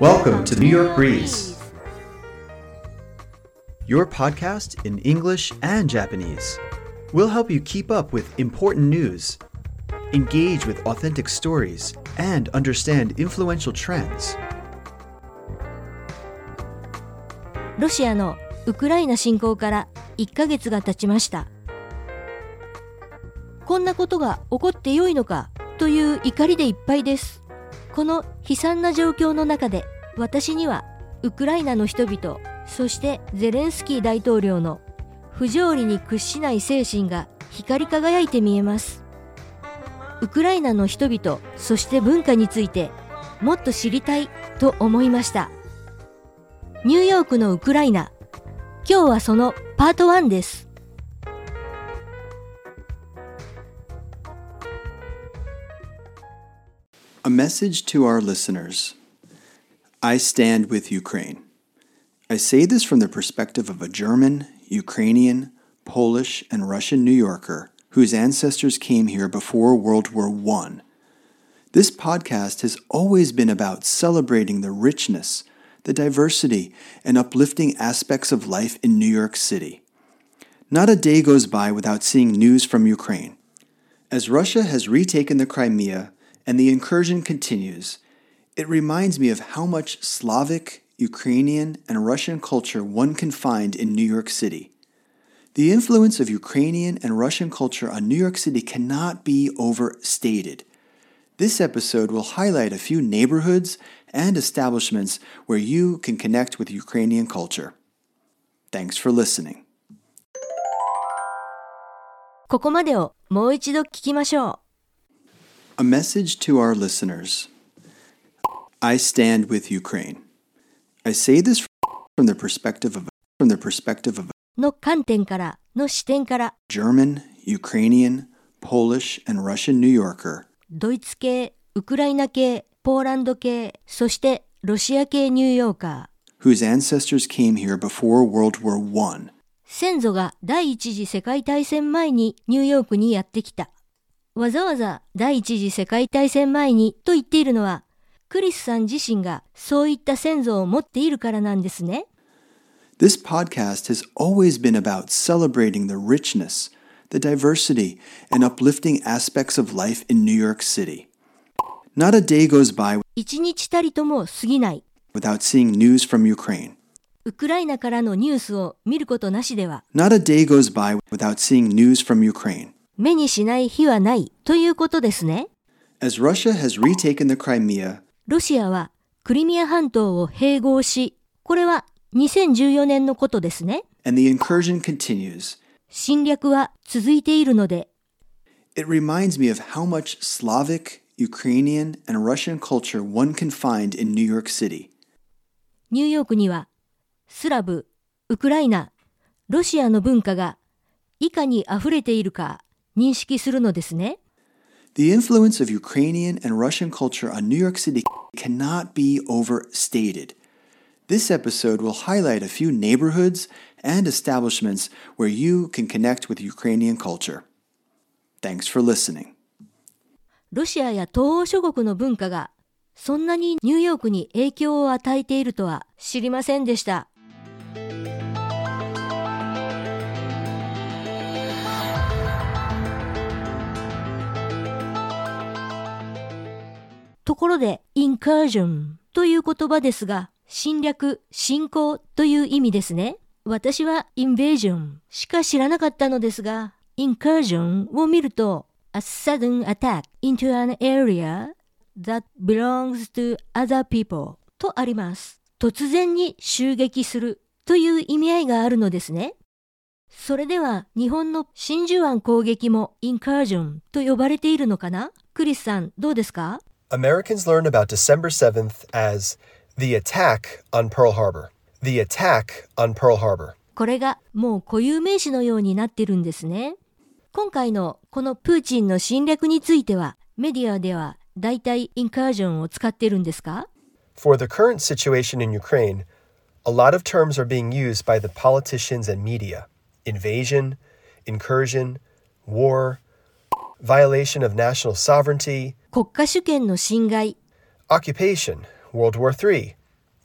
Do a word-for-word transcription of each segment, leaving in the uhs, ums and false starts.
Welcome to New York Breeze, your podcast in English and Japanese. We'll help you keep up with important news, engage with authentic stories, and understand influential trends. ロシアのウクライナ侵攻からいっかげつが経ちました。こんなことが起こってよいのかという怒りでいっぱいです。この悲惨な状況の中で私にはウクライナの人々、そしてゼレンスキー大統領の不条理に屈しない精神が光り輝いて見えます。ウクライナの人々、そして文化についてもっと知りたいと思いました。ニューヨークのウクライナ、今日はそのパートワンです。 A message to our listeners. I stand with Ukraine. I say this from the perspective of a German, Ukrainian, Polish, and Russian New Yorker whose ancestors came here before World War One. This podcast has always been about celebrating the richness, the diversity, and uplifting aspects of life in New York City. Not a day goes by without seeing news from Ukraine. As Russia has retaken the Crimea, and the incursion continues, it reminds me of how much Slavic, Ukrainian, and Russian culture one can find in New York City. The influence of Ukrainian and Russian culture on New York City cannot be overstated. This episode will highlight a few neighborhoods and establishments where you can connect with Ukrainian culture. Thanks for listening. ここまでをもう一度聞きましょう。 A message to our listeners. I stand with Ukraine. I say this from the perspective of from the perspective of の観点からの視点から German, Ukrainian, Polish, and Russian New Yorker. ドイツ系、ウクライナ系、ポーランド系、そしてロシア系ニューヨーカー whose ancestors came here before World War One. 先祖が第一次世界大戦前にニューヨークにやってきた。わざわざ第一次世界大戦前にと言っているのは、クリスさん自身がそういった先祖を持っているからなんですね。 This podcast has always been about celebrating the richness, the diversity, and uplifting aspects of life in New York City. Not a day goes by 一日たりとも過ぎない。 without seeing news from Ukraine. ウクライナからのニュースを見ることなしでは。 Not a day goes by without seeing news from Ukraine. 目にしない日はないということですね。 As Russia has retaken the Crimea, ロシアはクリミア半島を併合し、これはにせんじゅうよねんのことですね。 and the incursion continues, 侵略は続いているので、 it reminds me of how much Slavic, Ukrainian, and Russian culture one can find in New York City. ニューヨークにはスラブ、ウクライナ、ロシアの文化がいかにあふれているか認識するのですね。 The influence of Ukrainian and Russian culture on New York City cannot be overstated. This episode will highlight a few neighborhoods and establishments where you can connect with Ukrainian culture. Thanks for listening. ロシアや東欧諸国の文化がそんなにニューヨークに影響を与えているとは知りませんでした。ところで、incursion という言葉ですが、侵略、侵攻という意味ですね。私は invasion しか知らなかったのですが、incursion を見ると、a sudden attack into an area that belongs to other people とあります。突然に襲撃するという意味合いがあるのですね。それでは、日本の真珠湾攻撃も incursion と呼ばれているのかな？クリスさん、どうですか ？Americans learn about December seventh as the attack on Pearl Harbor. The attack on Pearl Harbor. これがもう固有名詞のようになってるんですね。今回のこのプーチンの侵略についてはメディアではだいたいインカージョンを使ってるんですか？ For the current situation in Ukraine, a lot of terms are being used by the politicians and media. Invasion, incursion, war, violation of national sovereignty, 国家主権の侵害、 occupation, World War Three,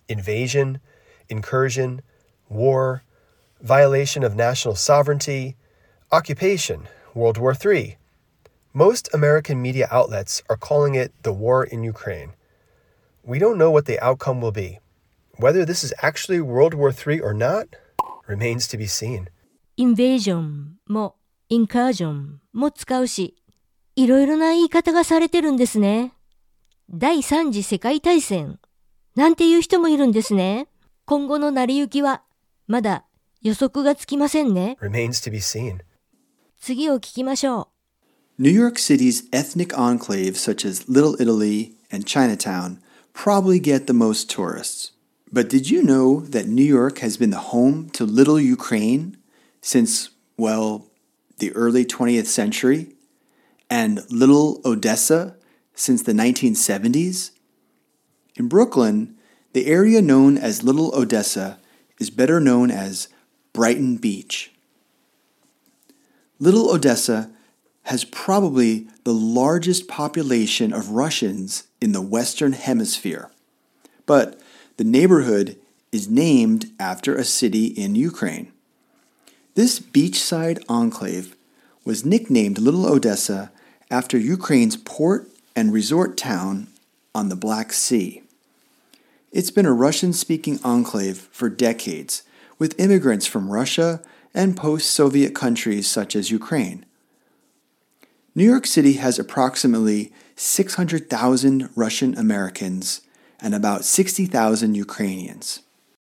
invasion, incursion, war, violation of national sovereignty, occupation, World War Three. Most American media outlets are calling it the war in Ukraine. We don't know what the outcome will be. Whether this is actually World War Three or not remains to be seen. invasion も incursion も使うし、いろいろな言い方がされてるんですね。第三次世界大戦なんていう人もいるんですね。今後の成り行きはまだ予測がつきませんね。 Remains to be seen. 次を聞きましょう。 New York City's ethnic enclaves such as Little Italy and Chinatown probably get the most tourists. But did you know that New York has been the home to Little Ukraine since, well, the early twentieth century? And Little Odessa since the nineteen seventies? In Brooklyn, the area known as Little Odessa is better known as Brighton Beach. Little Odessa has probably the largest population of Russians in the Western Hemisphere, but the neighborhood is named after a city in Ukraine. This beachside enclave was nicknamed Little Odessa after Ukraine's port and resort town on the Black Sea. It's been a Russian-speaking enclave for decades, with immigrants from Russia and post-Soviet countries such as Ukraine. New York City has approximately six hundred thousand Russian Americans and about sixty thousand Ukrainians.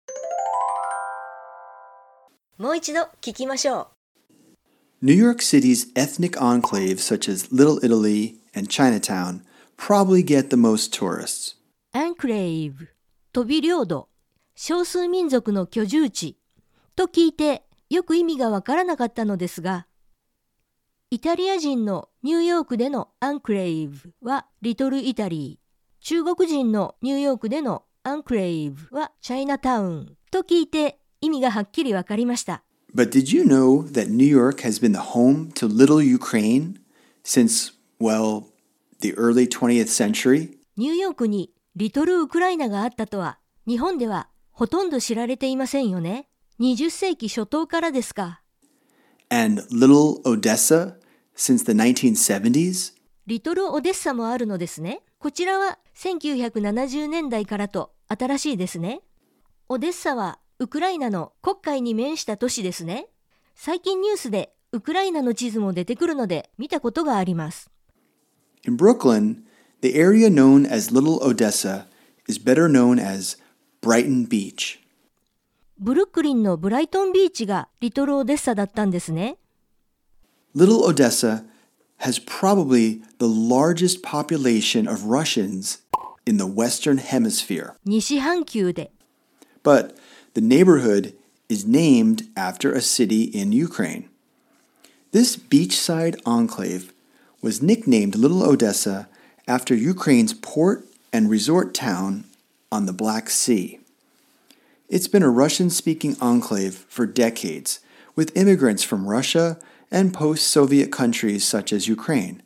もう一度聞きましょう。 New York City's ethnic enclaves such as Little Italy and Chinatown probably get the most tourists. enclave 飛び領土、少数民族の居住地と聞いてよく意味がわからなかったのですが、イタリア人のニューヨークでのアンクレイブはリトルイタリー、中国人のニューヨークでのアンクレイブはチャイナタウンと聞いて意味がはっきりわかりました。 But did you know that New York has been the home to Little Ukraine since, well, the early twentieth century? ニューヨークにリトルウクライナがあったとは日本ではほとんど知られていませんよね。にじゅっせいき初頭からですか。 And Little Odessa since the nineteen seventies? リトルオデッサもあるのですね。こちらはせんきゅうひゃくななじゅうねんだいからと新しいですね。オデッサはウクライナの黒海に面した都市ですね。最近ニュースでウクライナの地図も出てくるので見たことがあります。 In Brooklyn, the area known as Little Odessa is better known as Brighton Beach. ブルックリンのブライトンビーチがリトルオデッサだったんですね。 Little Odessa has probably the largest population of Russians in the Western Hemisphere. 西半球で。 But the neighborhood is named after a city in Ukraine. This beachside enclave was nicknamed Little Odessa after Ukraine's port and resort town on the Black Sea. It's been a Russian-speaking enclave for decades, with immigrants from Russia and post-Soviet countries such as Ukraine.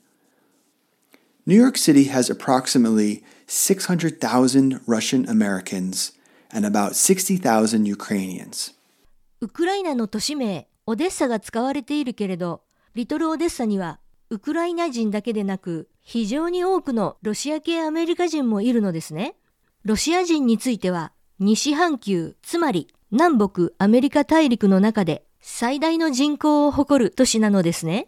New York City has approximately six hundred thousand Russian Americans and about sixty thousand Ukrainians. ウクライナの都市名オデッサが使われているけれど、リトルオデッサにはウクライナ人だけでなく非常に多くのロシア系アメリカ人もいるのですね。ロシア人については西半球、つまり南北アメリカ大陸の中で最大の人口を誇る都市なのですね。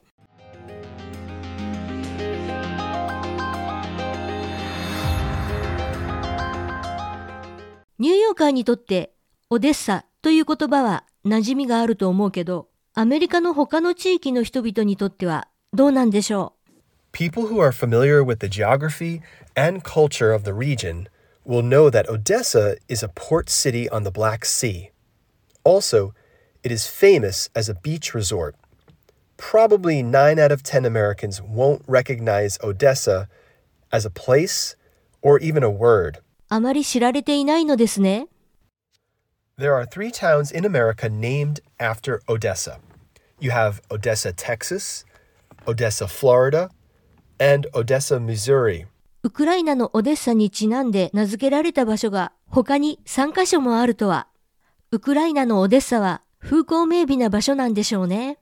ニューヨーカーにとってオデッサという言葉は馴染みがあると思うけど、アメリカの他の地域の人々にとってはどうなんでしょう。 People who are familiar with the geography and culture of the region will know that Odessa is a port city on the Black Sea. Also, it is famous as a beach resort. Probably nine out of ten Americans won't recognize Odessa as a place or even a word. あまり知られていないのですね。 There are three towns in America named after Odessa. You have Odessa, Texas, Odessa, Florida, and Odessa, Missouri. ウクライナのオデッサにちなんで名付けられた場所が他にさんカ所もあるとは。ウクライナのオデッサは風光明媚な場所なんでしょうね。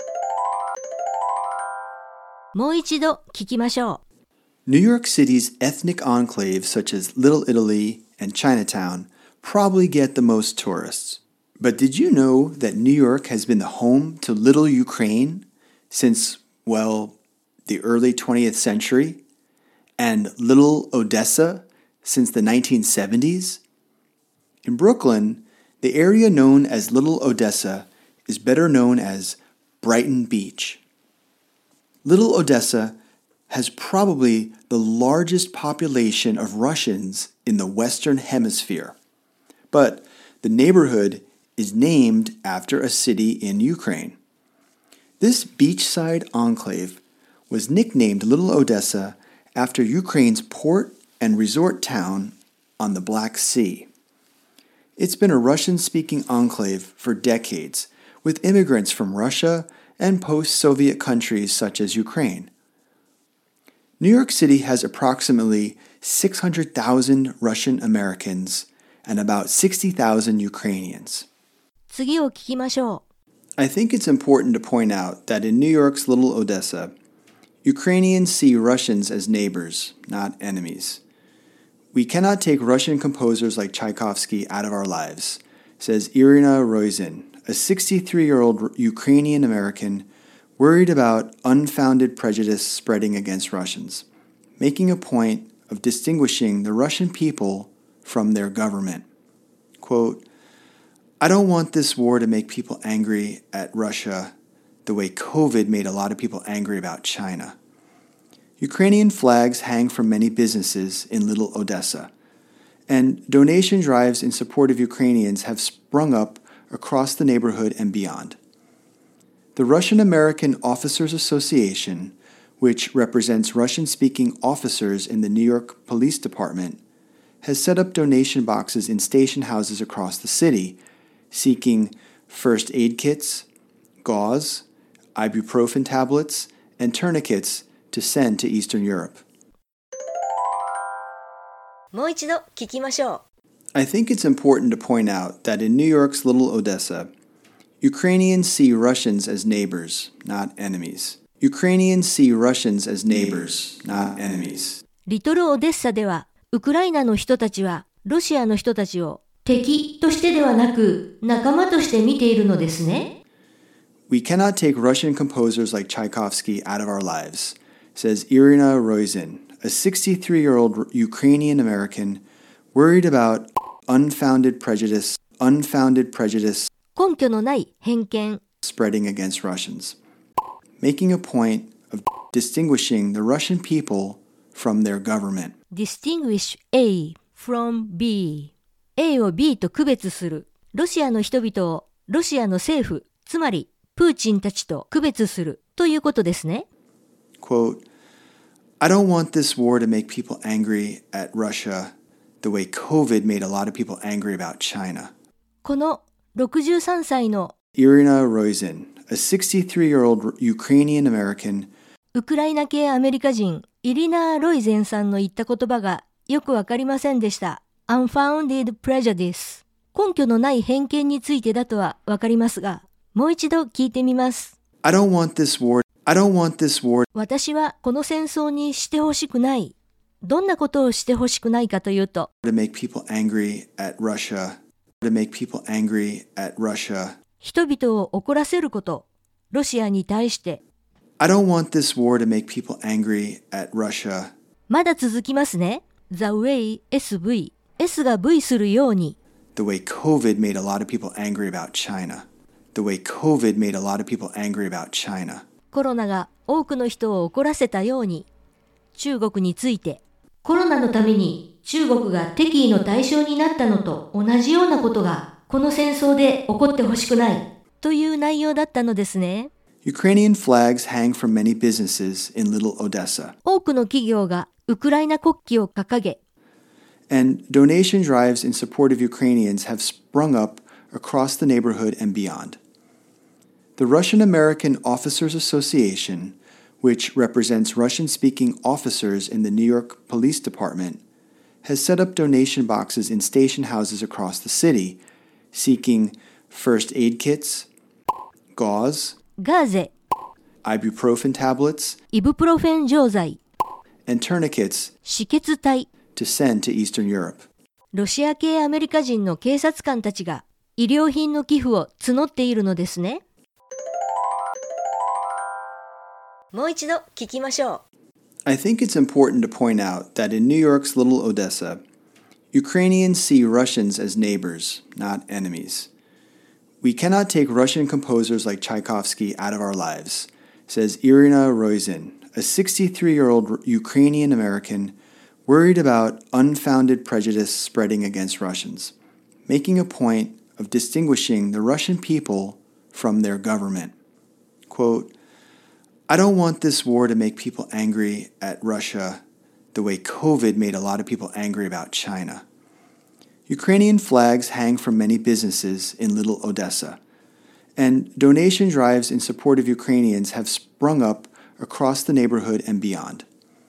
もう一度聞きましょう。New York City's ethnic enclaves such as Little Italy and Chinatown probably get the most tourists. But did you know that New York has been the home to Little Ukraine since, well, the early twentieth century? And Little Odessa since the nineteen seventies? In Brooklyn, the area known as Little Odessa is better known as Brighton Beach. Little Odessa has probably the largest population of Russians in the Western Hemisphere. But the neighborhood is named after a city in Ukraine. This beachside enclave was nicknamed Little Odessa after Ukraine's port and resort town on the Black Sea. It's been a Russian-speaking enclave for decades, with immigrants from Russia and post-Soviet countries such as Ukraine. New York City has approximately six hundred thousand Russian Americans and about sixty thousand Ukrainians. 次を聞きましょう。 I think it's important to point out that in New York's Little Odessa, Ukrainians see Russians as neighbors, not enemies. We cannot take Russian composers like Tchaikovsky out of our lives, says Irina Roizin, a sixty-three-year-old Ukrainian American worried about unfounded prejudice spreading against Russians, making a point of distinguishing the Russian people from their government. Quote, I don't want this war to make people angry at Russia the way COVID made a lot of people angry about China. Ukrainian flags hang from many businesses in Little Odessa, and donation drives in support of Ukrainians have sprung up across the neighborhood and beyond. The Russian American Officers Association, which represents Russian-speaking officers in the New York Police Department, has set up donation boxes in station houses across the city, seeking first aid kits, gauze, ibuprofen tablets, and tourniquets to send to Eastern Europe. もう一度聞きましょう。 I think it's important to point out that in New York's Little Odessa, Ukrainians see Russians as neighbors, not enemies. Ukrainians see Russians as neighbors, not enemies. リトルオデッサでは、ウクライナの人たちはロシアの人たちを敵としてではなく仲間として見ているのですね。 We cannot take Russian composers like Tchaikovsky out of our lives, says Irina Roizin, a sixty-three-year-old Ukrainian American worried about unfounded prejudice, unfounded prejudice 根拠のない偏見 spreading against Russians, making a point of distinguishing the Russian people from their government. Distinguish A from B. A を B と区別する。ロシアの人々をロシアの政府、つまりプーチンたちと区別するということですね。 Quote, I don't want this war to make people angry at Russia the way COVID made a lot of people angry about China. このろくじゅうさんさいの Irina Roizin, a sixty-three-year-old Ukrainian American, ウクライナ系アメリカ人イリナー・ロイゼンさんの言った言葉がよくわかりませんでした。Unfounded prejudice。根拠のない偏見についてだとはわかりますが、もう一度聞いてみます。 I don't want this war. I don't want this war. 私はこの戦争にしてほしくない。どんなことをしてほしくないかというと、 To make people angry at Russia. To make people angry at Russia. 人々を怒らせること、ロシアに対して。 I don't want this war to make people angry at Russia. まだ続きますね。The way エスブイ。S が V するように。 The way COVID made a lot of people angry about China. The way COVID made a lot of people angry about China. コロナが多くの人を怒らせたように、中国について、コロナのために中国が敵意の対象になったのと同じようなことが、この戦争で起こってほしくないという内容だったのですね。 Ukrainian flags hang from many businesses in Little Odessa. 多くの企業がウクライナ国旗を掲げ、 And donation drives in support of Ukrainians have sprung up across the neighborhood and beyond. The Russian American Officers Association, which represents Russian-speaking officers in the New York Police Department, has set up donation boxes in station houses across the city, seeking first aid kits, gauze, ガーゼ、 ibuprofen tablets, イブプロフェン錠剤、 and tourniquets 止血帯、 to send to Eastern Europe. ロシア系アメリカ人の警察官たちが医療品の寄付を募っているのですね。もう一度聞きましょう。 I think it's important to point out that in New York's Little Odessa, Ukrainians see Russians as neighbors, not enemies. We cannot take Russian composers like Tchaikovsky out of our lives, says Irina Roizin, a sixty-three-year-old Ukrainian American worried about unfounded prejudice spreading against Russians, making a point of distinguishing the Russian people from their government. Quote, I don't want this war to make people angry at Russia the way COVID made a lot of people angry about China. Ukrainian flags hang from many businesses in Little Odessa, and donation drives in support of Ukrainians have sprung up across the neighborhood and beyond.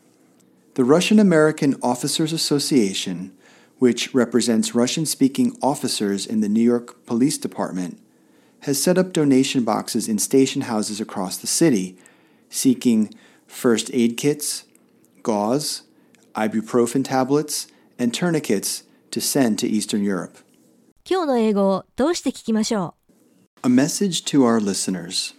The Russian American Officers Association, which represents Russian-speaking officers in the New York Police Department, has set up donation boxes in station houses across the city, seeking first aid kits, gauze, ibuprofen tablets, and tourniquets to send to Eastern Europe. 今日の英語を通して聞きましょう。 A message to our listeners.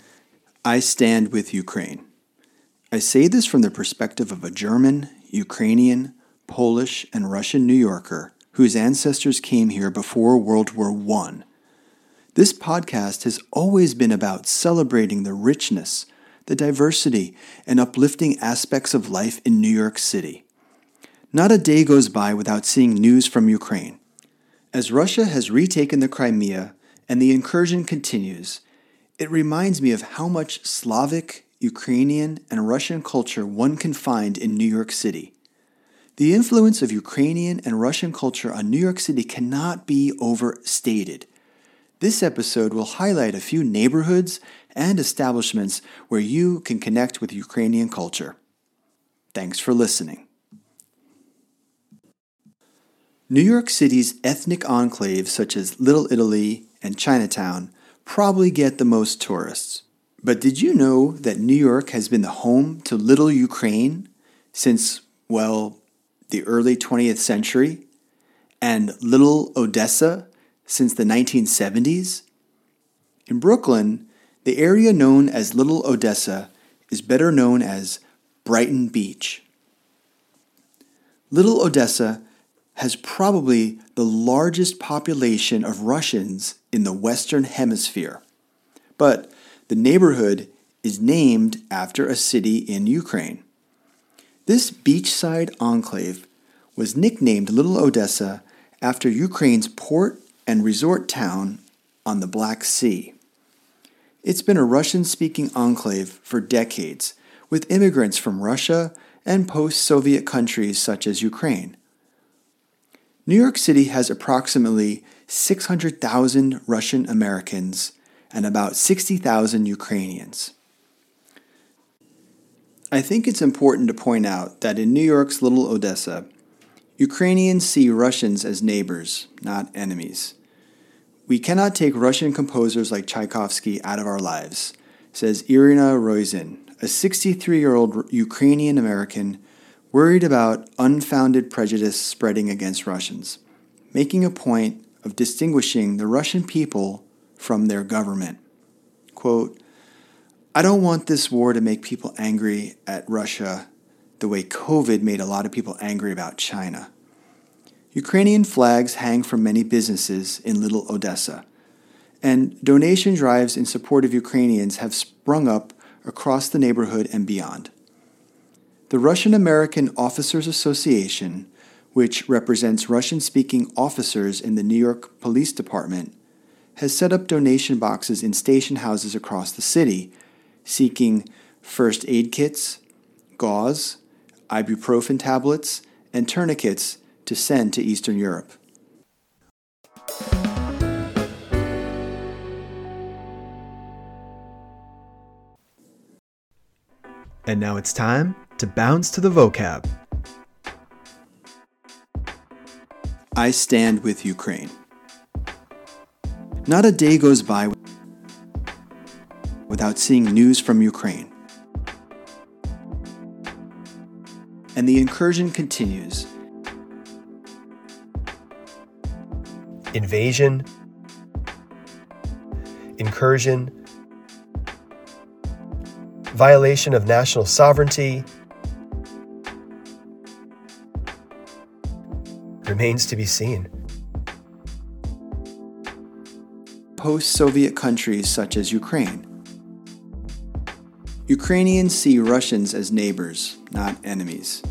I stand with Ukraine. I say this from the perspective of a German, Ukrainian, Polish, and Russian New Yorker whose ancestors came here before World War One. This podcast has always been about celebrating the richness, the diversity, and uplifting aspects of life in New York City. Not a day goes by without seeing news from Ukraine. As Russia has retaken the Crimea and the incursion continues, it reminds me of how much Slavic, Ukrainian, and Russian culture one can find in New York City. The influence of Ukrainian and Russian culture on New York City cannot be overstated. This episode will highlight a few neighborhoods and establishments where you can connect with Ukrainian culture. Thanks for listening. New York City's ethnic enclaves such as Little Italy and Chinatown probably get the most tourists. But did you know that New York has been the home to Little Ukraine since, well, the early twentieth century? And Little Odessa since the nineteen seventies? In Brooklyn, the area known as Little Odessa is better known as Brighton Beach. Little Odessa has probably the largest population of Russians in the Western Hemisphere, but the neighborhood is named after a city in Ukraine. This beachside enclave was nicknamed Little Odessa after Ukraine's port and resort town on the Black Sea. It's been a Russian-speaking enclave for decades, with immigrants from Russia and post-Soviet countries such as Ukraine. New York City has approximately six hundred thousand Russian Americans and about sixty thousand Ukrainians. I think it's important to point out that in New York's Little Odessa, Ukrainians see Russians as neighbors, not enemies. We cannot take Russian composers like Tchaikovsky out of our lives, says Irina Roizin, a sixty-three-year-old Ukrainian American worried about unfounded prejudice spreading against Russians, making a point of distinguishing the Russian people from their government. Quote, I don't want this war to make people angry at Russia the way COVID made a lot of people angry about China. Ukrainian flags hang from many businesses in Little Odessa, and donation drives in support of Ukrainians have sprung up across the neighborhood and beyond. The Russian American Officers Association, which represents Russian-speaking officers in the New York Police Department, has set up donation boxes in station houses across the city, seeking first aid kits, gauze, ibuprofen tablets, and tourniquets to send to Eastern Europe. And now it's time to bounce to the vocab. I stand with Ukraine. Not a day goes by without seeing news from Ukraine. And the incursion continues. Invasion, incursion, violation of national sovereignty, remains to be seen. Post-Soviet countries such as Ukraine. Ukrainians see Russians as neighbors, not enemies.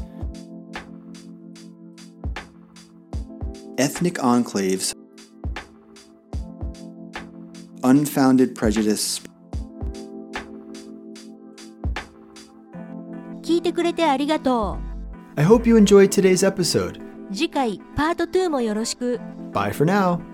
Ethnic enclaves, unfounded prejudice. 聞いてくれてありがと I hope you enjoyed today's episode. う。次回パートツーもよろしく。 Bye for now.